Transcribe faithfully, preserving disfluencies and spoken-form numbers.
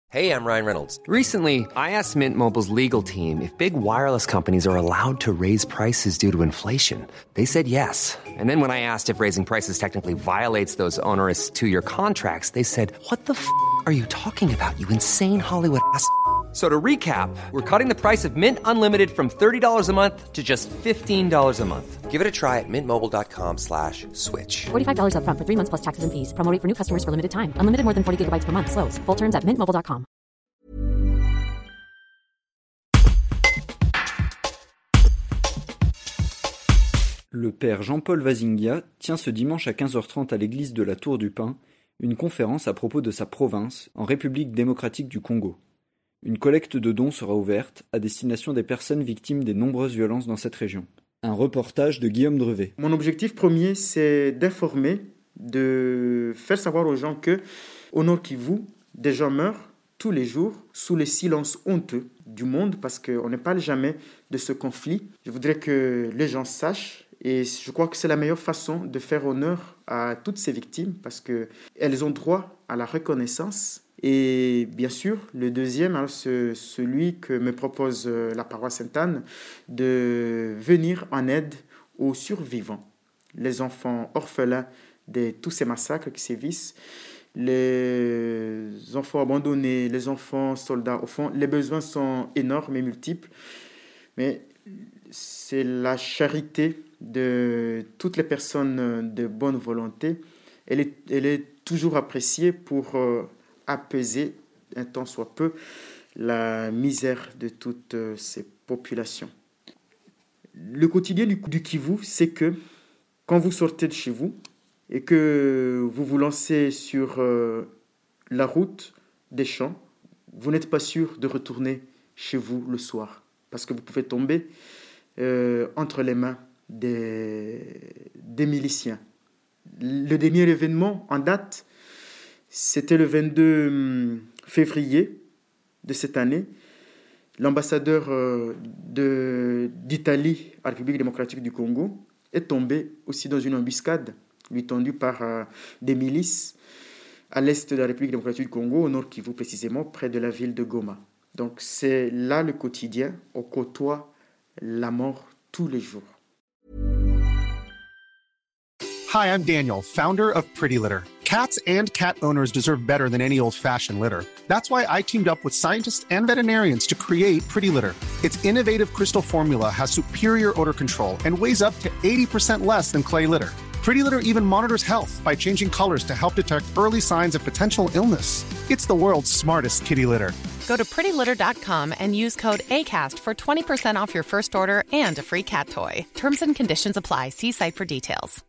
Hey, I'm Ryan Reynolds. Recently, I asked Mint Mobile's legal team if big wireless companies are allowed to raise prices due to inflation. They said yes. And then when I asked if raising prices technically violates those onerous two-year contracts, they said, what the f*** are you talking about, you insane Hollywood ass f- So to recap, we're cutting the price of Mint Unlimited from thirty dollars a month to just fifteen dollars a month. Give it a try at mintmobile.com slash switch. forty-five dollars up front for three months plus taxes and fees. Promo rate for new customers for limited time. Unlimited more than forty gigabytes per month. Slows full terms at mint mobile dot com. Le père Jean-Paul Vazinga tient ce dimanche à quinze heures trente à l'église de la Tour du Pin une conférence à propos de sa province, en République démocratique du Congo. Une collecte de dons sera ouverte à destination des personnes victimes des nombreuses violences dans cette région. Un reportage de Guillaume Drevet. Mon objectif premier, c'est d'informer, de faire savoir aux gens que, au Nord Kivu, des gens meurent tous les jours sous le silence honteux du monde parce qu'on ne parle jamais de ce conflit. Je voudrais que les gens sachent et je crois que c'est la meilleure façon de faire honneur à toutes ces victimes parce qu'elles ont droit à la reconnaissance. Et bien sûr, le deuxième, hein, c'est celui que me propose la paroisse Sainte-Anne, de venir en aide aux survivants, les enfants orphelins de tous ces massacres qui sévissent, les enfants abandonnés, les enfants soldats. Au fond, les besoins sont énormes et multiples, mais c'est la charité de toutes les personnes de bonne volonté. Elle est, elle est toujours appréciée pour euh, apaiser un tant soit peu la misère de toutes ces populations. Le quotidien du, du Kivu, c'est que quand vous sortez de chez vous et que vous vous lancez sur euh, la route des champs, vous n'êtes pas sûr de retourner chez vous le soir parce que vous pouvez tomber euh, entre les mains des, des miliciens. Le dernier événement en date, c'était le vingt-deux février de cette année. L'ambassadeur de, d'Italie à la République démocratique du Congo est tombé aussi dans une embuscade lui tendue par euh, des milices à l'est de la République démocratique du Congo, au nord Kivu précisément, près de la ville de Goma. Donc c'est là le quotidien, on côtoie la mort tous les jours. Hi, I'm Daniel, founder of Pretty Litter. Cats and cat owners deserve better than any old-fashioned litter. That's why I teamed up with scientists and veterinarians to create Pretty Litter. Its innovative crystal formula has superior odor control and weighs up to eighty percent less than clay litter. Pretty Litter even monitors health by changing colors to help detect early signs of potential illness. It's the world's smartest kitty litter. Go to pretty litter dot com and use code ACAST for twenty percent off your first order and a free cat toy. Terms and conditions apply. See site for details.